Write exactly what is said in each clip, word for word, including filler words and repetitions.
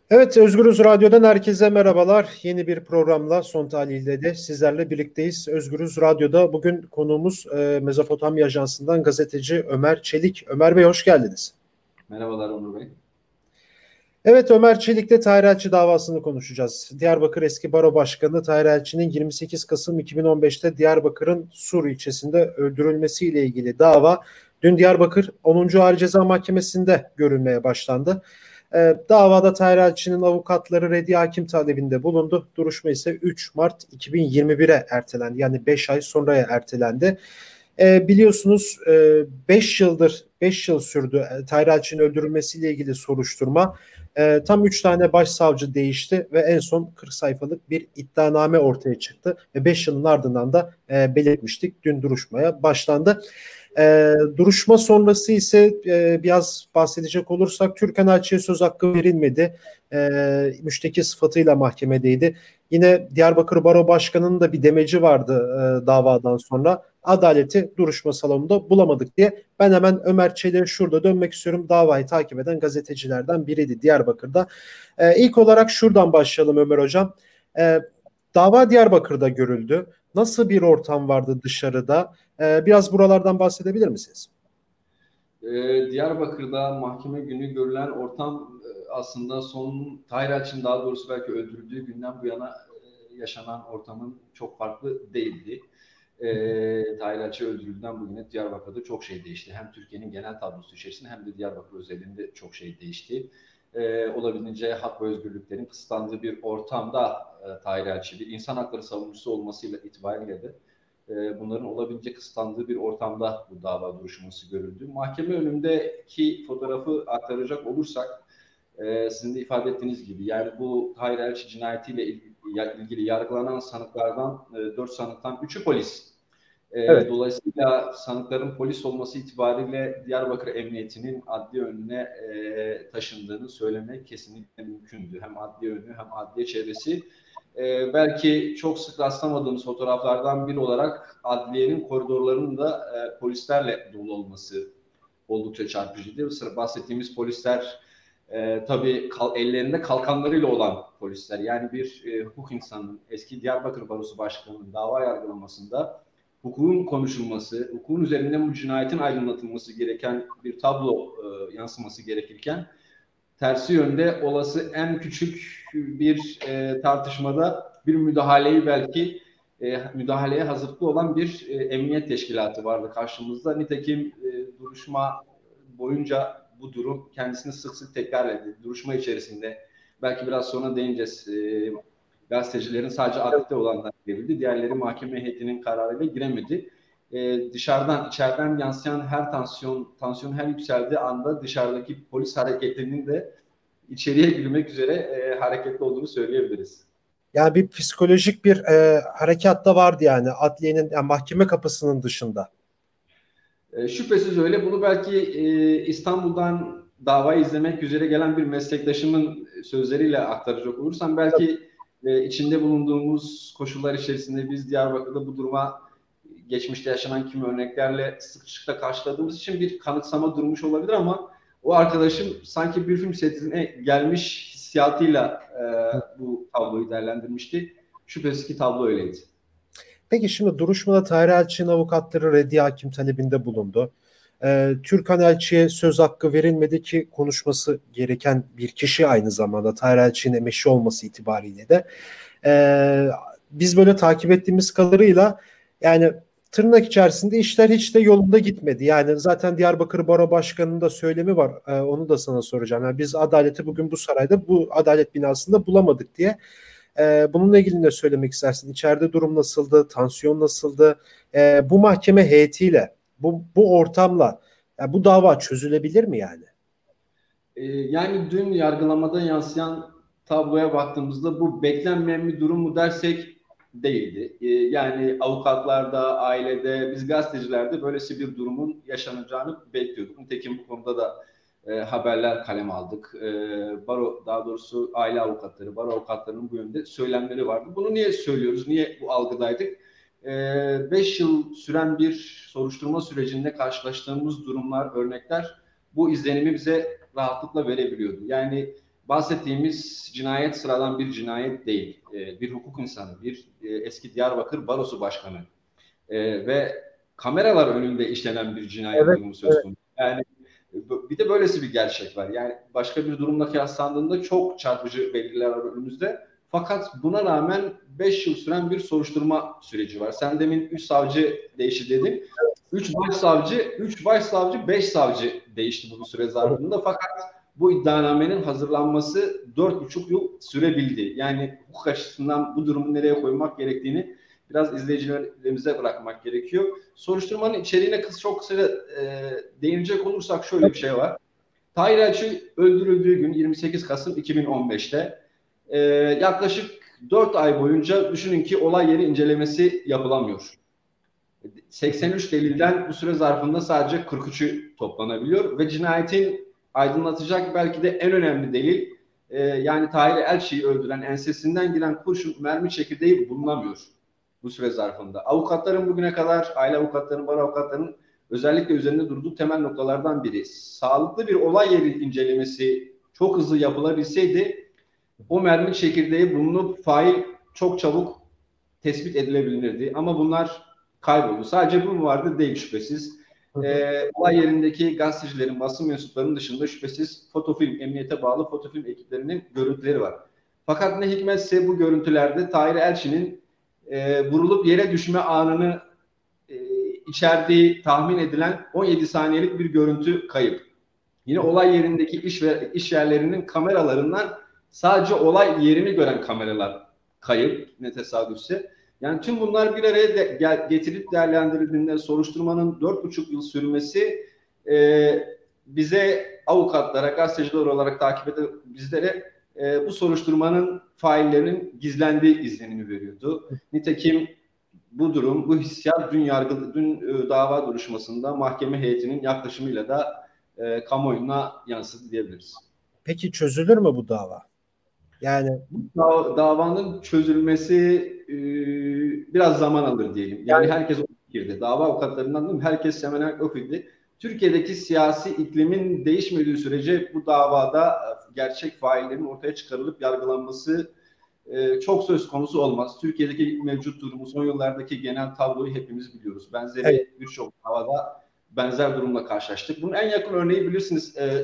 Evet, Özgürüz Radyo'dan herkese merhabalar. Yeni bir programla son tahlilde de sizlerle birlikteyiz. Özgürüz Radyo'da bugün konuğumuz e, Mezopotamya Ajansı'ndan gazeteci Ömer Çelik. Ömer Bey hoş geldiniz. Merhabalar Onur Bey. Evet, Ömer Çelik'le Tahir Elçi davasını konuşacağız. Diyarbakır eski baro başkanı Tahir Elçi'nin yirmi sekiz Kasım iki bin on beşte Diyarbakır'ın Sur ilçesinde öldürülmesiyle ilgili dava dün Diyarbakır onuncu. Ağır Ceza Mahkemesi'nde görülmeye başlandı. E, davada Tahir Elçi'nin avukatları reddi hakim talebinde bulundu. Duruşma ise üç Mart iki bin yirmi bire ertelendi. Yani beş ay sonraya ertelendi. E, biliyorsunuz beş yıldır beş yıl sürdü e, Tahir Elçi'nin öldürülmesiyle ilgili soruşturma. E, tam üç tane başsavcı değişti ve en son kırk sayfalık bir iddianame ortaya çıktı. Ve beş yılın ardından da e, belirtmiştik. Dün duruşmaya başlandı. E, duruşma sonrası ise e, biraz bahsedecek olursak Türkan Elçi'ye söz hakkı verilmedi. E, müşteki sıfatıyla mahkemedeydi. Yine Diyarbakır Baro Başkanı'nın da bir demeci vardı e, davadan sonra. Adaleti duruşma salonunda bulamadık diye. Ben hemen Ömer Çelik'e şurada dönmek istiyorum. Davayı takip eden gazetecilerden biriydi Diyarbakır'da. E, ilk olarak şuradan başlayalım Ömer Hocam. E, dava Diyarbakır'da görüldü. Nasıl bir ortam vardı dışarıda? E, biraz buralardan bahsedebilir misiniz? Ee, Diyarbakır'da mahkeme günü görülen ortam e, aslında son Tahir Elçi'nin daha doğrusu belki öldürüldüğü günden bu yana e, yaşanan ortamın çok farklı değildi. E, Tahir Elçi öldürüldüğünden bugüne Diyarbakır'da çok şey değişti. Hem Türkiye'nin genel tablosu içerisinde hem de Diyarbakır özelinde çok şey değişti. E, olabildiğince hak ve özgürlüklerin kısıtlandığı bir ortamda e, Tahir Elçi bir insan hakları savunucusu olmasıyla itibariyle de bunların olabildiğince kısıtlandığı bir ortamda bu dava duruşması görüldü. Mahkeme önündeki fotoğrafı aktaracak olursak sizin de ifade ettiğiniz gibi yani bu Tahir Elçi cinayetiyle ilgili yargılanan sanıklardan dört sanıktan üçü polis. Evet. Dolayısıyla sanıkların polis olması itibariyle Diyarbakır Emniyeti'nin adliye önüne taşındığını söylemek kesinlikle mümkündü. Hem adliye önü hem adliye çevresi. Ee, belki çok sık rastlamadığımız fotoğraflardan biri olarak adliyenin koridorlarının da e, polislerle dolu olması oldukça çarpıcıydı. Sıra bahsettiğimiz polisler e, tabii kal, ellerinde kalkanlarıyla olan polisler. Yani bir e, hukuk insanının eski Diyarbakır Barosu Başkanı'nın dava yargılamasında hukukun konuşulması, hukukun üzerinden bu cinayetin aydınlatılması gereken bir tablo e, yansıması gerekirken tersi yönde olası en küçük bir e, tartışmada bir müdahaleyi belki e, müdahaleye hazırlıklı olan bir e, emniyet teşkilatı vardı karşımızda. Nitekim e, duruşma boyunca bu durum kendisini sık sık tekrar etti. Duruşma içerisinde belki biraz sonra değineceğiz. E, gazetecilerin sadece adliyede olanlar girebildi. Diğerleri mahkeme heyetinin kararıyla giremedi. E, dışarıdan, içeriden yansıyan her tansiyon, tansiyon her yükseldiği anda dışarıdaki polis hareketinin de içeriye girmek üzere e, hareketli olduğunu söyleyebiliriz. Yani bir psikolojik bir e, harekat da vardı yani adliyenin yani mahkeme kapısının dışında. E, şüphesiz öyle. Bunu belki e, İstanbul'dan davayı izlemek üzere gelen bir meslektaşımın sözleriyle aktaracak olursam belki e, içinde bulunduğumuz koşullar içerisinde biz Diyarbakır'da bu duruma geçmişte yaşanan kimi örneklerle sıklıkla karşıladığımız için bir kanıksama durmuş olabilir ama o arkadaşım sanki bir film setine gelmiş hissiyatıyla e, bu tabloyu değerlendirmişti. Şüphesiz ki tablo öyleydi. Peki şimdi duruşmada Tahir Elçi'nin avukatları reddi hakim talebinde bulundu. Ee, Türkan Elçi'ye söz hakkı verilmedi ki konuşması gereken bir kişi aynı zamanda Tahir Elçi'nin emeşi olması itibariyle de. Ee, biz böyle takip ettiğimiz kadarıyla yani tırnak içerisinde işler hiç de yolunda gitmedi. Yani zaten Diyarbakır Baro Başkanı'nın da söylemi var. Ee, onu da sana soracağım. Yani biz adaleti bugün bu sarayda, bu adalet binasında bulamadık diye. Ee, bununla ilgili ne söylemek istersin? İçeride durum nasıldı? Tansiyon nasıldı? Ee, bu mahkeme heyetiyle, bu, bu ortamla yani bu dava çözülebilir mi yani? Ee, yani dün yargılamada yansıyan tabloya baktığımızda bu beklenmeyen bir durum mu dersek değildi. Ee, yani avukatlarda, ailede, biz gazetecilerde böylesi bir durumun yaşanacağını bekliyorduk. Nitekim bu konuda da e, haberler kaleme aldık. E, baro, daha doğrusu aile avukatları, baro avukatlarının bu yönde söylemleri vardı. Bunu niye söylüyoruz? Niye bu algıdaydık? E, beş yıl süren bir soruşturma sürecinde karşılaştığımız durumlar, örnekler bu izlenimi bize rahatlıkla verebiliyordu. Yani bahsettiğimiz cinayet sıradan bir cinayet değil. E, bir hukuk insanı, bir e, eski Diyarbakır Barosu Başkanı e, ve kameralar önünde işlenen bir cinayet Evet, durumu söz evet. konusu. Yani bir de böylesi bir gerçek var. Yani başka bir durumla kıyaslandığında çok çarpıcı belirtiler var önümüzde. Fakat buna rağmen beş yıl süren bir soruşturma süreci var. Sen demin üç savcı değişti dedin. üç başsavcı, üç başsavcı, beş savcı değişti bu süre zarfında. Fakat bu iddianamenin hazırlanması dört buçuk yıl sürebildi. Yani hukuk açısından bu durumu nereye koymak gerektiğini biraz izleyicilerimize bırakmak gerekiyor. Soruşturmanın içeriğine kısa, çok kısa e, değinecek olursak şöyle bir şey var. Tahir Elçi öldürüldüğü gün yirmi sekiz Kasım iki bin on beşte e, yaklaşık dört ay boyunca düşünün ki olay yeri incelemesi yapılamıyor. seksen üç delilden bu süre zarfında sadece kırk üçü toplanabiliyor ve cinayetin aydınlatacak belki de en önemli delil e, yani Tahir Elçi'yi öldüren ensesinden giren kurşun mermi çekirdeği bulunamıyor bu süre zarfında. Avukatların bugüne kadar, aile avukatlarının, bar avukatlarının özellikle üzerinde durduğu temel noktalardan biri. Sağlıklı bir olay yeri incelemesi çok hızlı yapılabilseydi o mermi çekirdeği bulunup fail çok çabuk tespit edilebilirdi. Ama bunlar kayboldu. Sadece bu mu vardı? Değil şüphesiz. Ee, olay yerindeki gazetecilerin, basın mensuplarının dışında şüphesiz fotofilm, emniyete bağlı fotofilm ekiplerinin görüntüleri var. Fakat ne hikmetse bu görüntülerde Tahir Elçi'nin e, vurulup yere düşme anını e, içerdiği tahmin edilen on yedi saniyelik bir görüntü kayıp. Yine olay yerindeki iş ve iş yerlerinin kameralarından sadece olay yerini gören kameralar kayıp, ne tesadüfse. Yani tüm bunlar bir araya de, gel, getirip değerlendirildiğinde soruşturmanın dört buçuk yıl sürmesi e, bize avukatlara, gazeteciler olarak takip eden bizlere e, bu soruşturmanın faillerinin gizlendiği izlenimi veriyordu. Nitekim bu durum, bu hissiyat dün yargı, dün e, dava duruşmasında mahkeme heyetinin yaklaşımıyla da e, kamuoyuna yansıdı diyebiliriz. Peki çözülür mü bu dava? Yani Bu da, davanın çözülmesi e, biraz zaman alır diyelim. Yani yani herkes o fikirde. Dava avukatlarından değil mi? Herkes hemen hemen o fikirde. Türkiye'deki siyasi iklimin değişmediği sürece bu davada gerçek faillerin ortaya çıkarılıp yargılanması e, çok söz konusu olmaz. Türkiye'deki mevcut durumu, son yıllardaki genel tabloyu hepimiz biliyoruz. evet, Benzeri birçok davada benzer durumla karşılaştık. Bunun en yakın örneği bilirsiniz e,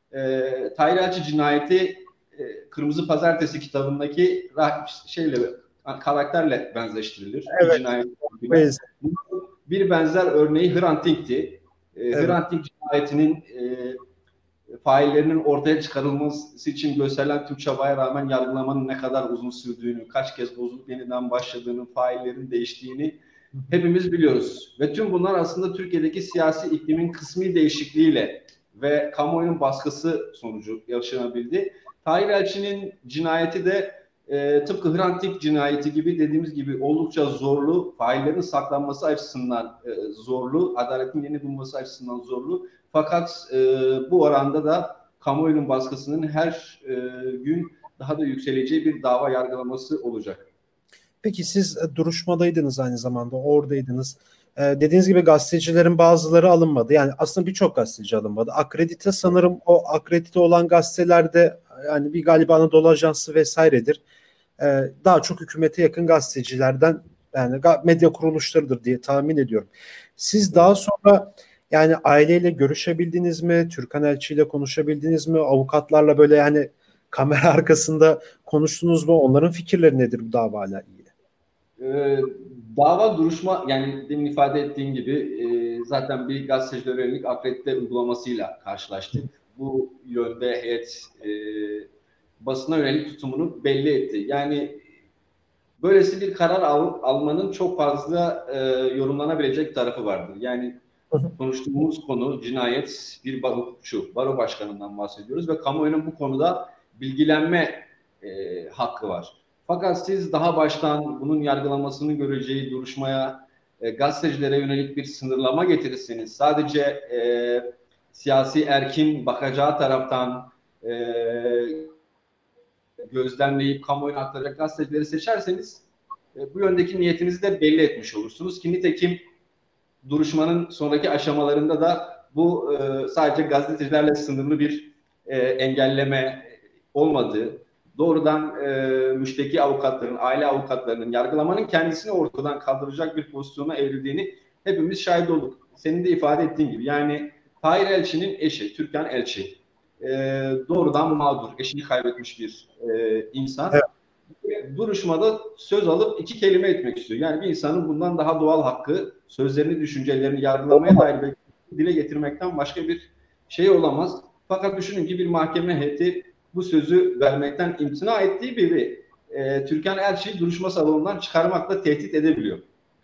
e, Tahir Elçi cinayeti e, Kırmızı Pazartesi kitabındaki şeyle karakterle benzeştirilir. Bir evet. cinayet. Evet. Bir benzer örneği Hrant Dink'ti. E, Evet. Hrant Dink cinayetinin e, faillerinin ortaya çıkarılması için gösterilen tüm çabaya rağmen yargılamanın ne kadar uzun sürdüğünü, kaç kez bozulup yeniden başladığını, faillerin değiştiğini hepimiz biliyoruz. Ve tüm bunlar aslında Türkiye'deki siyasi iklimin kısmi değişikliğiyle ve kamuoyunun baskısı sonucu yaşanabildi. Tahir Elçi'nin cinayeti de e, tıpkı Hrant Dink cinayeti gibi dediğimiz gibi oldukça zorlu, faillerin saklanması açısından e, zorlu, adaletin yerini bulması açısından zorlu. Fakat e, bu oranda da kamuoyunun baskısının her e, gün daha da yükseleceği bir dava yargılaması olacak. Peki siz e, duruşmadaydınız, aynı zamanda oradaydınız. Ee, dediğiniz gibi gazetecilerin bazıları alınmadı. Yani aslında birçok gazeteci alınmadı. Akredite, sanırım o akredite olan gazetelerde yani bir galiba Anadolu Ajansı vesairedir. Ee, daha çok hükümete yakın gazetecilerden, yani medya kuruluşlarıdır diye tahmin ediyorum. Siz daha sonra yani aileyle görüşebildiniz mi? Türkan Elçi ile konuşabildiniz mi? Avukatlarla böyle yani kamera arkasında konuştunuz mu? Onların fikirleri nedir bu davayla ilgili? Ee, dava duruşma, yani demin ifade ettiğim gibi e, zaten bir gazetecilere yönelik akredite uygulamasıyla karşılaştık. Bu yönde heyet e, basına yönelik tutumunu belli etti. Yani böylesi bir karar al, almanın çok fazla e, yorumlanabilecek tarafı vardır. Yani konuştuğumuz konu cinayet, bir hukukçu, baro başkanından bahsediyoruz ve kamuoyunun bu konuda bilgilenme e, hakkı var. Fakat siz daha baştan bunun yargılamasını göreceği duruşmaya e, gazetecilere yönelik bir sınırlama getirirseniz, sadece e, siyasi erkin bakacağı taraftan e, gözlemleyip kamuoyuna aktaracak gazetecileri seçerseniz e, bu yöndeki niyetinizi de belli etmiş olursunuz ki nitekim duruşmanın sonraki aşamalarında da bu e, sadece gazetecilerle sınırlı bir e, engelleme olmadığı, doğrudan e, müşteki avukatların, aile avukatlarının yargılamanın kendisini ortadan kaldıracak bir pozisyona evrildiğini hepimiz şahit olduk. Senin de ifade ettiğin gibi. Yani Tahir Elçi'nin eşi, Türkan Elçi, e, doğrudan mağdur, eşini kaybetmiş bir e, insan. Evet. Duruşmada söz alıp iki kelime etmek istiyor. Yani bir insanın bundan daha doğal hakkı, sözlerini, düşüncelerini yargılamaya dair dile getirmekten başka bir şey olamaz. Fakat düşünün ki bir mahkeme heyeti bu sözü vermekten imtina ettiği biri e, Türkan Elçi'yi duruşma salonundan çıkarmakla tehdit edebiliyor.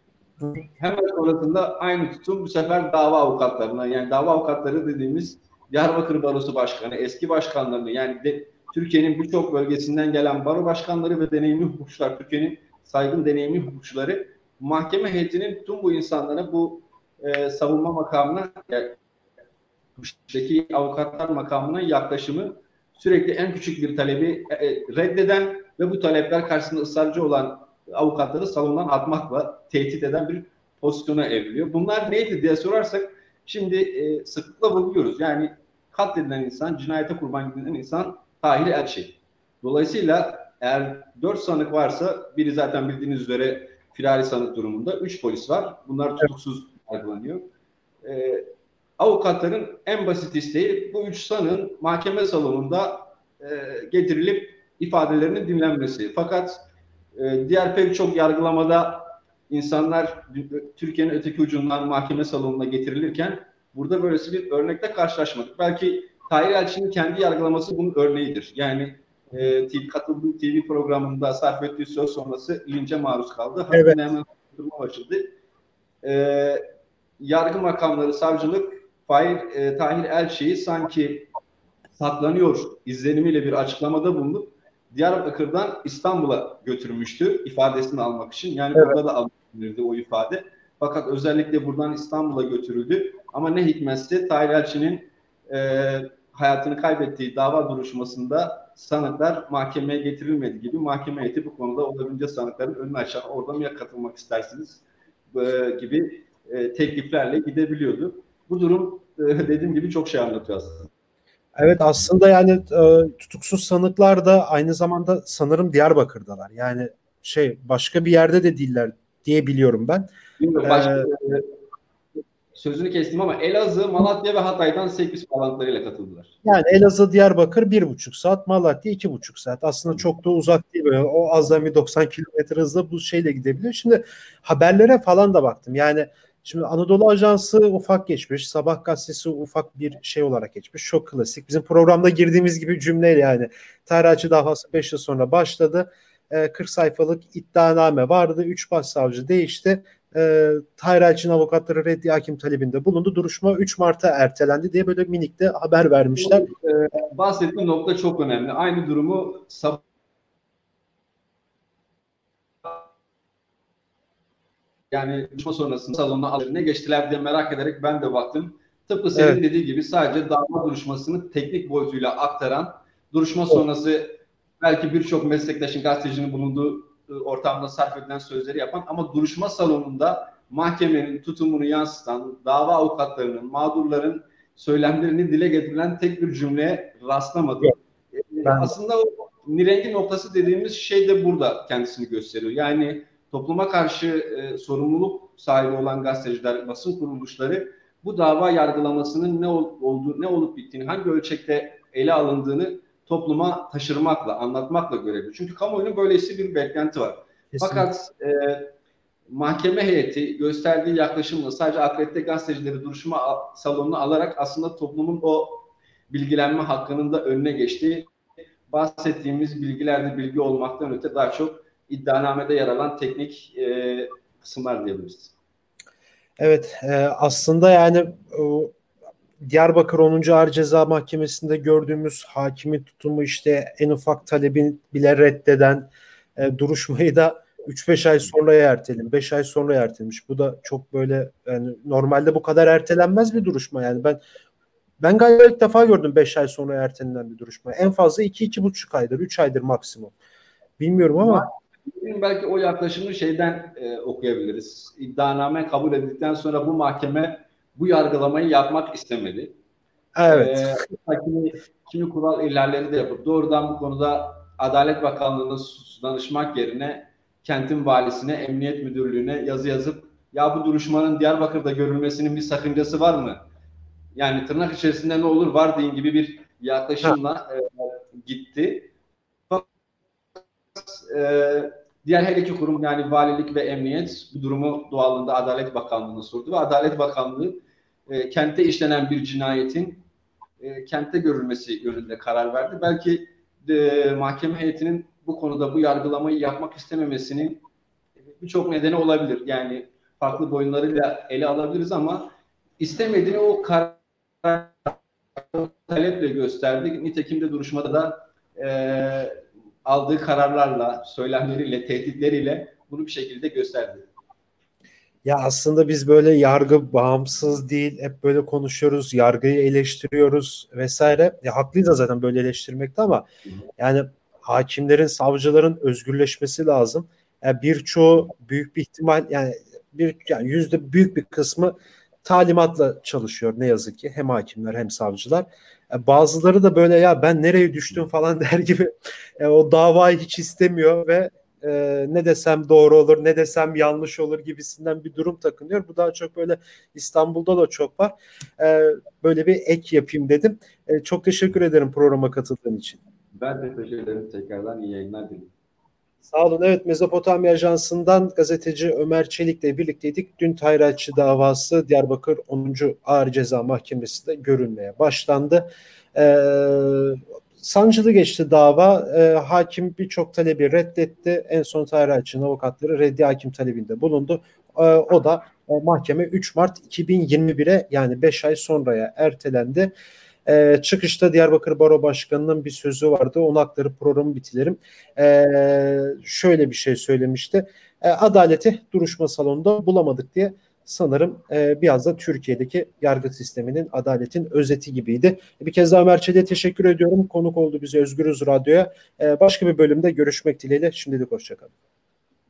Hemen sonrasında aynı tutum bu sefer dava avukatlarına, yani dava avukatları dediğimiz Diyarbakır Barosu Başkanı, eski başkanlarını, yani de, Türkiye'nin birçok bölgesinden gelen baro başkanları ve deneyimli hukukçular, Türkiye'nin saygın deneyimli hukukçuları mahkeme heyetinin tüm bu insanlara bu e, savunma makamına, yani, müşteki avukatlar makamına yaklaşımı sürekli en küçük bir talebi e, reddeden ve bu talepler karşısında ısrarcı olan avukatları salondan atmakla tehdit eden bir pozisyona evriliyor. Bunlar neydi diye sorarsak şimdi e, sıklıkla buluyoruz. Yani katledilen insan, cinayete kurban gidilen insan Tahir Elçi. Dolayısıyla eğer dört sanık varsa biri zaten bildiğiniz üzere firari sanık durumunda. Üç polis var. Bunlar tutuksuz yargılanıyor. E, avukatların en basit isteği bu üç sanığın mahkeme salonunda e, getirilip ifadelerinin dinlenmesi. Fakat e, diğer pek çok yargılamada insanlar Türkiye'nin öteki ucundan mahkeme salonuna getirilirken burada böylesi bir örnekle karşılaşmadık. Belki Tahir Elçi'nin kendi yargılaması bunun örneğidir. Yani e, T V, katıldığı T V programında sarf ettiği söz sonrası lince maruz kaldı. Evet. Hakkında hemen durma başladı. E, yargı makamları, savcılık Tahir, e, Tahir Elçi'yi sanki saklanıyor izlenimiyle bir açıklamada bulunup Diyarbakır'dan İstanbul'a götürmüştü ifadesini almak için. Yani evet. Burada da alınırdı o ifade. Fakat özellikle buradan İstanbul'a götürüldü. Ama ne hikmetse Tahir Elçi'nin e, hayatını kaybettiği dava duruşmasında sanıklar mahkemeye getirilmedi gibi mahkeme heyeti bu konuda olabildiğince sanıkların önünü açar. Orada mı ya katılmak istersiniz e, gibi e, tekliflerle gidebiliyordu. Bu durum e, dediğim gibi çok şey anlatıyor aslında. Evet, aslında yani e, tutuksuz sanıklar da aynı zamanda sanırım Diyarbakır'dalar. Yani şey başka bir yerde de değiller diye biliyorum ben. Bilmiyorum, başka, ee, sözünü kestim ama Elazığ, Malatya ve Hatay'dan sekiz bağlantılarıyla katıldılar. Yani Elazığ, Diyarbakır bir buçuk saat, Malatya iki buçuk saat. Aslında çok da uzak değil. Böyle. O azami doksan kilometre hızla bu şeyle gidebiliyor. Şimdi haberlere falan da baktım. Yani şimdi Anadolu Ajansı ufak geçmiş. Sabah gazetesi ufak bir şey olarak geçmiş. Çok klasik. Bizim programda girdiğimiz gibi cümleyle yani. Tahir Elçi davası beş yıl sonra başladı. kırk sayfalık iddianame vardı. üç başsavcı değişti. E, Tahir Elçi'nin avukatları reddi hakim talebinde bulundu. Duruşma üç Mart'a ertelendi diye böyle minik de haber vermişler. E, bahsettiğim nokta çok önemli. Aynı durumu sabah yani duruşma sonrasında salonuna ne geçtiler diye merak ederek ben de baktım. Tıpkı senin evet. dediği gibi sadece dava duruşmasını teknik boyutuyla aktaran, duruşma evet. sonrası belki birçok meslektaşın, gazetecinin bulunduğu ortamda sarf edilen sözleri yapan ama duruşma salonunda mahkemenin tutumunu yansıtan, dava avukatlarının, mağdurların söylemlerini dile getirilen tek bir cümleye rastlamadım. Ben... Aslında o nirengi noktası dediğimiz şey de burada kendisini gösteriyor. Yani topluma karşı e, sorumluluk sahibi olan gazeteciler, basın kuruluşları bu dava yargılamasının ne ol, olduğu, ne olup bittiğini, hangi ölçekte ele alındığını topluma taşırmakla, anlatmakla görevli. Çünkü kamuoyunun böylesi bir beklenti var. Kesinlikle. Fakat e, mahkeme heyeti gösterdiği yaklaşımla sadece akredite gazetecileri duruşma salonuna alarak aslında toplumun o bilgilenme hakkının da önüne geçtiği, bahsettiğimiz bilgilerde bilgi olmaktan öte daha çok iddianamede yer alan teknik e, kısımlar diyebiliriz. Evet, e, aslında yani o Diyarbakır onuncu Ağır Ceza Mahkemesi'nde gördüğümüz hakimin tutumu işte en ufak talebin bile reddeden e, duruşmayı da üç beş ay sonra ertelemiş, beş ay sonra ertelemiş. Bu da çok böyle yani normalde bu kadar ertelenmez bir duruşma yani. Ben ben galiba ilk defa gördüm beş ay sonra ertelenen bir duruşma. En fazla iki iki buçuk aydır, üç aydır maksimum. Bilmiyorum ama belki o yaklaşımı şeyden e, okuyabiliriz. İddianame kabul edildikten sonra bu mahkeme bu yargılamayı yapmak istemedi. Evet. E, kimi, kimi kural ihlalleri de yapıp doğrudan bu konuda Adalet Bakanlığı'na danışmak yerine kentin valisine, emniyet müdürlüğüne yazı yazıp ya bu duruşmanın Diyarbakır'da görülmesinin bir sakıncası var mı? Yani tırnak içerisinde ne olur var deyin gibi bir Ha. yaklaşımla e, gitti. E, diğer her iki kurum yani valilik ve emniyet bu durumu doğalında Adalet Bakanlığı'na sordu ve Adalet Bakanlığı e, kente işlenen bir cinayetin e, kentte görülmesi yönünde karar verdi. Belki de, mahkeme heyetinin bu konuda bu yargılamayı yapmak istememesinin birçok nedeni olabilir. Yani farklı boyunlarıyla ele alabiliriz ama istemediğini o karar taleple gösterdi. Nitekim de duruşmada da e, aldığı kararlarla, söylemleriyle, tehditleriyle bunu bir şekilde gösterdi. Ya aslında biz böyle yargı bağımsız değil, hep böyle konuşuyoruz, yargıyı eleştiriyoruz vesaire. Ya haklıyız da zaten böyle eleştirmekte ama yani hakimlerin, savcıların özgürleşmesi lazım. Yani birçoğu büyük bir ihtimal yani bir yani yüzde büyük bir kısmı talimatla çalışıyor ne yazık ki hem hakimler hem savcılar. E, bazıları da böyle ya ben nereye düştüm falan der gibi e, o davayı hiç istemiyor ve e, ne desem doğru olur ne desem yanlış olur gibisinden bir durum takınıyor. Bu daha çok böyle İstanbul'da da çok var. E, böyle bir ek yapayım dedim. E, çok teşekkür ederim programa katıldığın için. Ben de teşekkür ederim. Tekrardan iyi yayınlar dilerim. Sağ olun. Evet, Mezopotamya Ajansı'ndan gazeteci Ömer Çelik'le birlikteydik. Dün Tayratçı davası Diyarbakır onuncu Ağır Ceza Mahkemesi'nde görülmeye başlandı. Ee, sancılı geçti dava. Ee, hakim birçok talebi reddetti. En son Tayratçı'nın avukatları reddi hakim talebinde bulundu. Ee, o da e, mahkeme üç Mart iki bin yirmi bire yani beş ay sonraya ertelendi. Ee, çıkışta Diyarbakır Baro Başkanı'nın bir sözü vardı. Onu aktarıp programı bitirelim. Ee, şöyle bir şey söylemişti. Ee, adaleti duruşma salonunda bulamadık diye sanırım e, biraz da Türkiye'deki yargı sisteminin adaletin özeti gibiydi. Bir kez daha Ömer Çelik'e teşekkür ediyorum. Konuk oldu bize Özgürüz Radyo'ya. Ee, başka bir bölümde görüşmek dileğiyle. Şimdilik hoşçakalın.